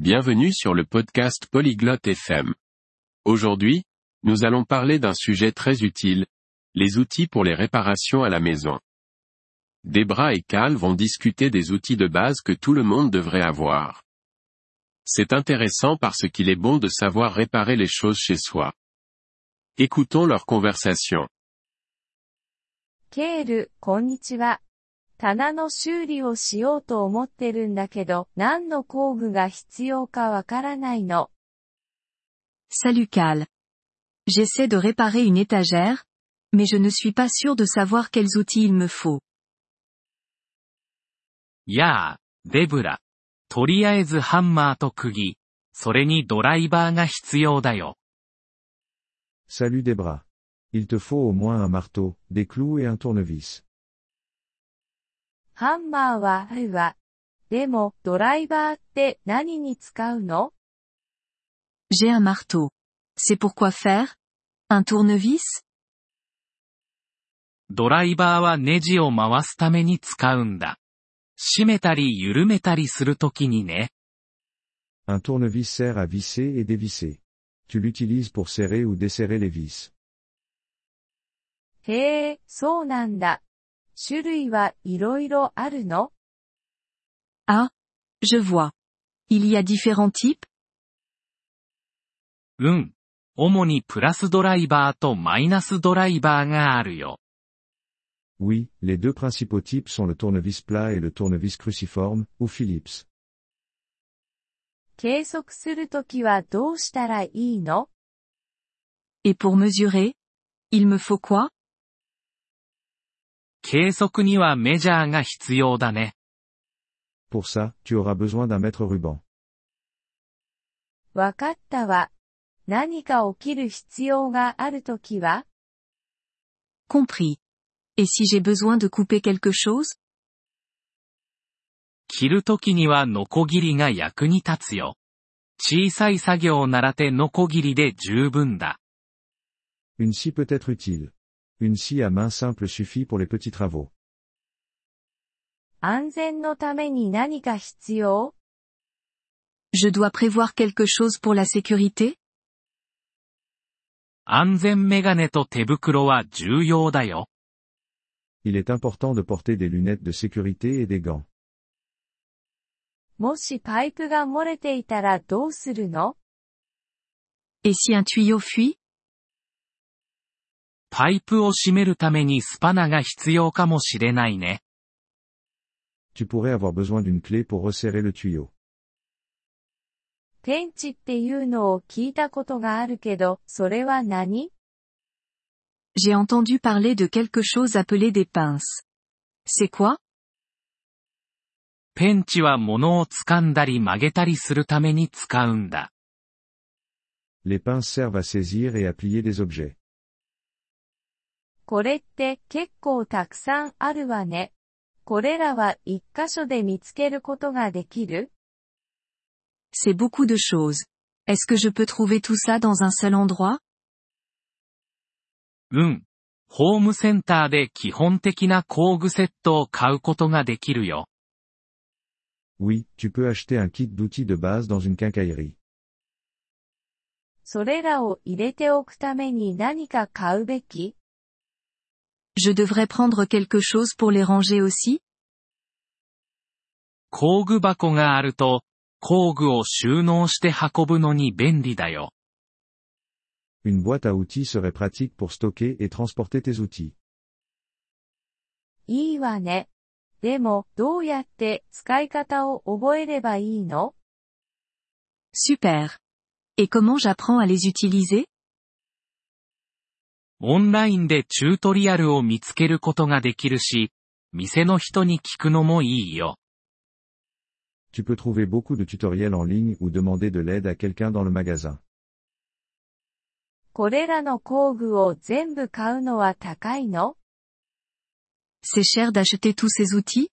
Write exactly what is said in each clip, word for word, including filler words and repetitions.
Bienvenue sur le podcast Polyglotte F M. Aujourd'hui, nous allons parler d'un sujet très utile, les outils pour les réparations à la maison. Debra et Cal vont discuter des outils de base que tout le monde devrait avoir. C'est intéressant parce qu'il est bon de savoir réparer les choses chez soi. Écoutons leur conversation. ケール、こんにちは。棚の修理をしようと思ってるんだけど、何の工具が必要かわからないの。 Salut Cal. J'essaie de réparer une étagère, mais je ne suis pas sûr de savoir quels outils il me faut. やあ、デブラ。とりあえずハンマーと釘、それにドライバーが必要だよ。 Salut Debra. Il te faut au moins un marteau, des clous et un tournevis. ハンマーはあるわ。でも、ドライバーって何に使うの？ J'ai un marteau. C'est pour quoi faire? Un tournevis? ドライバーはネジを回すために使うんだ。締めたり緩めたりするときにね。 Un tournevis sert à visser et dévisser. Tu l'utilises pour serrer ou desserrer les vis. へえ、そうなんだ。種類はいろいろあるの？ Ah, je vois. Il y a différents types? うん。主にプラスドライバーとマイナスドライバーがあるよ。 Oui, les deux principaux types sont le tournevis plat et le tournevis cruciforme, ou Phillips. 計測するときはどうしたらいいの？ Et pour mesurer? Il me faut quoi? 計測にはメジャーが必要だね。 Pour ça, tu auras besoin d'un mètre ruban. わかったわ。何か起きる必要があるときは？ Compris. Et si j'ai besoin de couper quelque chose? 切るときにはノコギリが役に立つよ。小さい作業ならてノコギリで十分だ。 Une scie peut être utile. Une scie à main simple suffit pour les petits travaux. 安全のために何か必要？ Je dois prévoir quelque chose pour la sécurité? 安全メガネと手袋は重要だよ。 Il est important de porter des lunettes de sécurité et des gants. もしパイプが漏れていたらどうするの？ Et si un tuyau fuit? パイプを閉めるためにスパナが必要かもしれないね。 Tu pourrais avoir besoin d'une clé pour resserrer le tuyau. ペンチっていうのを聞いたことがあるけど、それは何？ J'ai entendu parler de quelque chose appelé des pinces. C'est quoi? ペンチは物を掴んだり曲げたりするために使うんだ。 Les pinces servent à saisir et à plier des objets. これって結構たくさんあるわね。これらは一箇所で見つけることができる？ C'est beaucoup de choses. Est-ce que je peux trouver tout ça dans un seul endroit? うん。ホームセンターで基本的な工具セットを買うことができるよ。 Oui, tu peux acheter un kit d'outils de base dans une quincaillerie. それらを入れておくために何か買うべき？ Je devrais prendre quelque chose pour les ranger aussi? 工具箱があると、工具を収納して運ぶのに便利だよ。 Une boîte à outils serait pratique pour stocker et transporter tes outils. いいわね。でも、どうやって使い方を覚えればいいの？ Super. Et comment j'apprends à les utiliser? オンラインでチュートリアルを見つけることができるし、店の人に聞くのもいいよ。 Tu peux trouver beaucoup de tutoriels en ligne ou demander de l'aide à quelqu'un dans le magasin. これらの工具を全部買うのは高いの？ C'est cher d'acheter tous ces outils?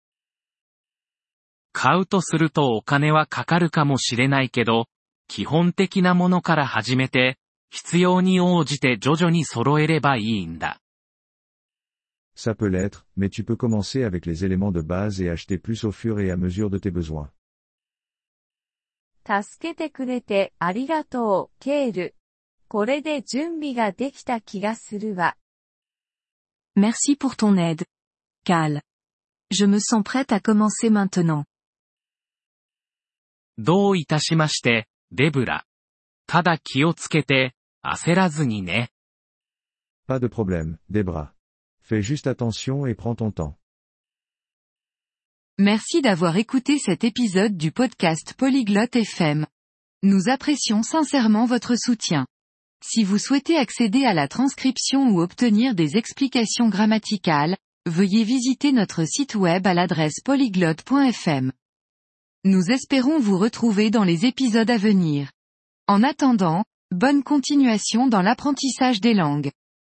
買うとするとお金はかかるかもしれないけど、基本的なものから始めて、必要に応じて徐々に揃えればいいんだ。 Ça peut l'être, mais tu peux commencer avec les éléments de base et acheter plus au fur et à mesure de tes besoins. 助けてくれてありがとう、ケール。これで準備ができた気がするわ。 Merci pour ton aide, Cal. Je me sens prête à commencer maintenant. どういたしまして、デブラ。ただ気をつけて、焦らずにね。 Pas de problème, Debra. Fais juste attention et prends ton temps. Merci d'avoir écouté cet épisode du podcast Polyglotte F M. Nous apprécions sincèrement votre soutien. Si vous souhaitez accéder à la transcription ou obtenir des explications grammaticales, veuillez visiter notre site web à l'adresse polyglotte point f m. Nous espérons vous retrouver dans les épisodes à venir. En attendant, bonne continuation dans l'apprentissage des langues.